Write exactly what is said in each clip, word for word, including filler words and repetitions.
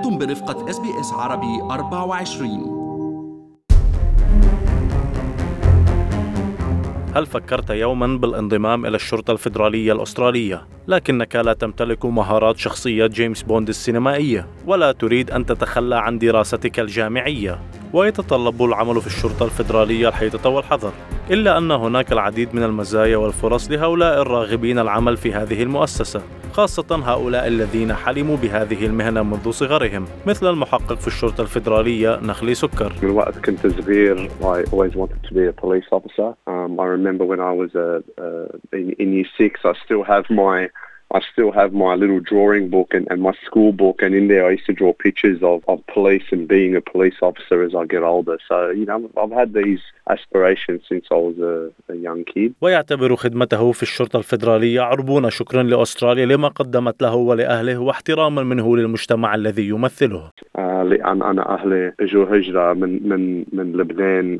أنتم برفقة إس بي إس عربي أربعة وعشرين. هل فكرت يوماً بالانضمام إلى الشرطة الفيدرالية الأسترالية، لكنك لا تمتلك مهارات شخصية جيمس بوند السينمائية، ولا تريد أن تتخلى عن دراستك الجامعية، ويتطلب العمل في الشرطة الفيدرالية الحيطة والحذر؟ إلا أن هناك العديد من المزايا والفرص لهؤلاء الراغبين العمل في هذه المؤسسة، خاصة هؤلاء الذين حلموا بهذه المهنة منذ صغرهم، مثل المحقق في الشرطة الفيدرالية نخلي سكر. من وقت كنت صغير I always wanted to be a police officer. Um, I remember when I was uh, uh, in, in year six, I still have my I still have my little drawing book and, and my school book, and in there I used to draw pictures of, of police and being a police officer as I get older. So, you know, I've had these aspirations since I was a, a young kid. ويعتبر خدمته في الشرطة الفيدرالية عربون شكرا لأستراليا لما قدمت له ولأهله، واحتراما منه للمجتمع الذي يمثله. لأن أنا أهلي إجوا هجرة من من من لبنان،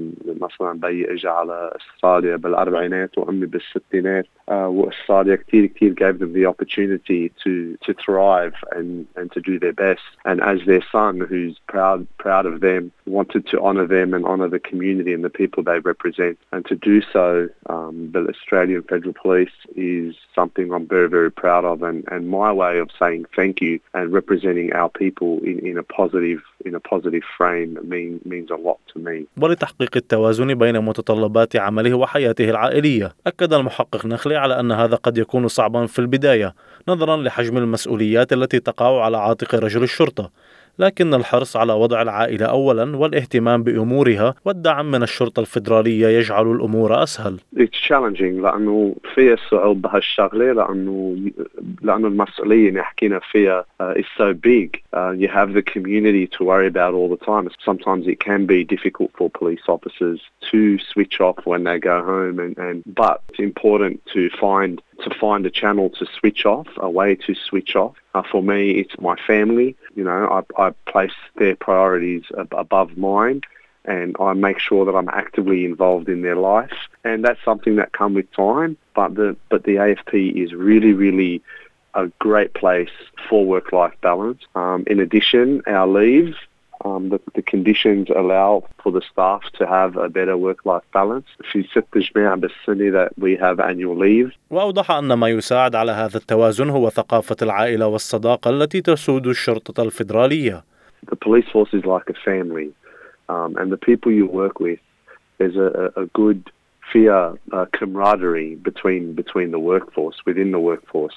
مثلا بي إجا على أستراليا بالأربعينات وأمي بالستينات، وأستراليا كتير كتير gave them the opportunity to to thrive and and to do their best. And as their son, who's proud proud of them, wanted to honour them and honour the community and the people they represent. And to do so, um, the Australian Federal Police is something I'm very very proud of. And and my way of saying thank you and representing our people in in a positive in a positive frame mean, means a lot to me. ولتحقيق التوازن بين متطلبات عمله وحياته العائلية، أكد المحقق نخلي على أن هذا قد يكون صعبا في البداية نظرا لحجم المسؤوليات التي تقع على عاتق رجل الشرطة، لكن الحرص على وضع العائلة أولا والاهتمام بأمورها والدعم من الشرطة الفيدرالية يجعل الأمور أسهل. It's challenging لأنه فيها صعوبة بهالشغلة، لأنه لأنه المسؤولية اللي حكينا فيها uh, is so big. Uh, you have the community to worry about all the time. Sometimes it can be difficult for police officers to switch off when they go home, and, and but it's important to find to find a channel to switch off, a way to switch off. Uh, for me, it's my family. You know, I, I place their priorities ab- above mine, and I make sure that I'm actively involved in their life. And that's something that comes with time. But the but the A F P is really, really a great place for work-life balance. Um, in addition, our leave. Um, the, the conditions allow for the staff to have a better work-life balance. في ست جماعة بالسنة that we have annual leave. وأوضح أن ما يساعد على هذا التوازن هو ثقافة العائلة والصداقة التي تسود الشرطة الفيدرالية. The police force is like a family, um, and the people you work with, there's a, a good fear uh, camaraderie between between the workforce, within the workforce.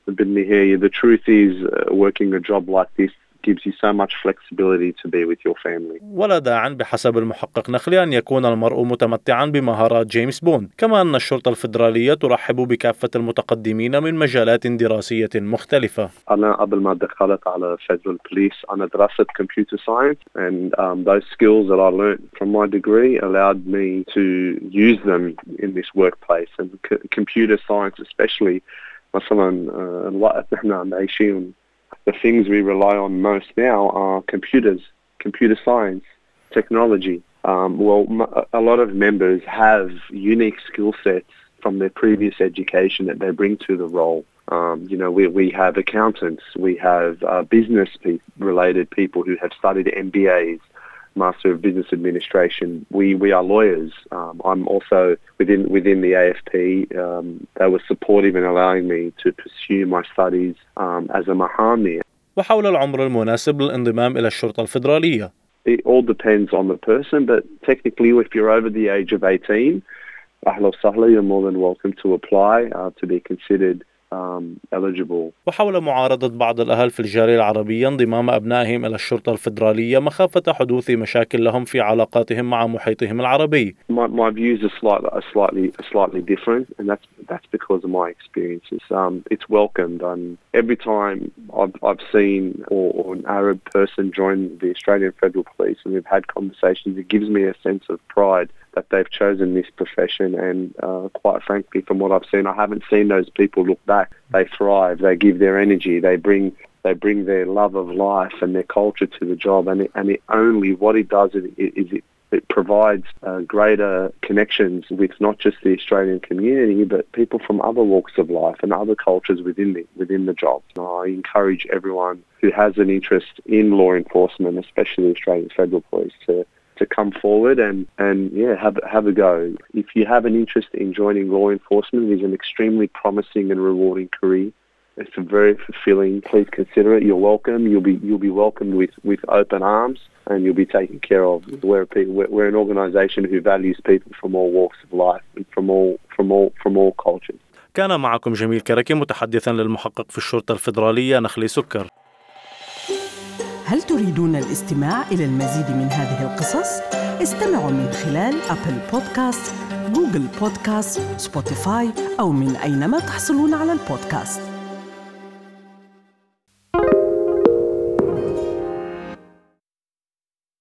The truth is, uh, working a job like this gives you so much flexibility to be with your family. ولا داعٍ بحسب المحقق نخلي أن يكون المرء متمتعاً بمهارات جيمس بوند، كما أن الشرطة الفيدرالية ترحب بكافة المتقدمين من مجالات دراسية مختلفة. أنا قبل ما دخلت على Federal Police أنا درست computer science, and um, those skills that I learned from my degree allowed me to use them in this workplace. And c- computer science especially, مثلاً الوقت نحن عم عايشين, the things we rely on most now are computers, computer science, technology. Um, well, a lot of members have unique skill sets from their previous education that they bring to the role. Um, you know, we, we have accountants, we have uh, business pe- related people who have studied M B As, Master of Business Administration. We we are lawyers. Um, I'm also within within the A F P. Um, they were supportive in allowing me to pursue my studies um, as a mahami. وحول العمر المناسب للانضمام إلى الشرطة الفيدرالية. It all depends on the person, but technically, if you're over the age of eighteen, أهلا وسهلا, you're more than welcome to apply uh, to be considered Um, eligible. وحول معارضة بعض الأهل في الجالية العربية انضمام أبنائهم إلى الشرطة الفيدرالية مخافة حدوث مشاكل لهم في علاقاتهم مع محيطهم العربي. My, my views are slightly, are slightly, are slightly different, and that's that's because of my experiences. Um, it's welcomed, and every time I've I've seen or, or an Arab person join the Australian Federal Police, and we've had conversations, it gives me a sense of pride that they've chosen this profession, and uh, quite frankly, from what I've seen, I haven't seen those people look back. They thrive, they give their energy, they bring they bring their love of life and their culture to the job, and it, and it only, what it does is it, is it It provides uh, greater connections with not just the Australian community, but people from other walks of life and other cultures within the, within the job. I encourage everyone who has an interest in law enforcement, especially the Australian Federal Police, to to come forward and, and yeah, have, have a go. If you have an interest in joining law enforcement, it is an extremely promising and rewarding career. It's very fulfilling. Please consider it. You're welcome. You'll be you'll be welcomed with, with open arms, and you'll be taken care of. We're, we're, we're an organisation who values people from all walks of life and from all from all from all cultures. كان معكم جميل كركي متحدثا للمحقق في الشرطة الفيدرالية نخلي سكر. هل تريدون الاستماع إلى المزيد من هذه القصص؟ استمعوا من خلال أبل بودكاست، جوجل بودكاست، سبوتيفاي أو من أينما تحصلون على البودكاست.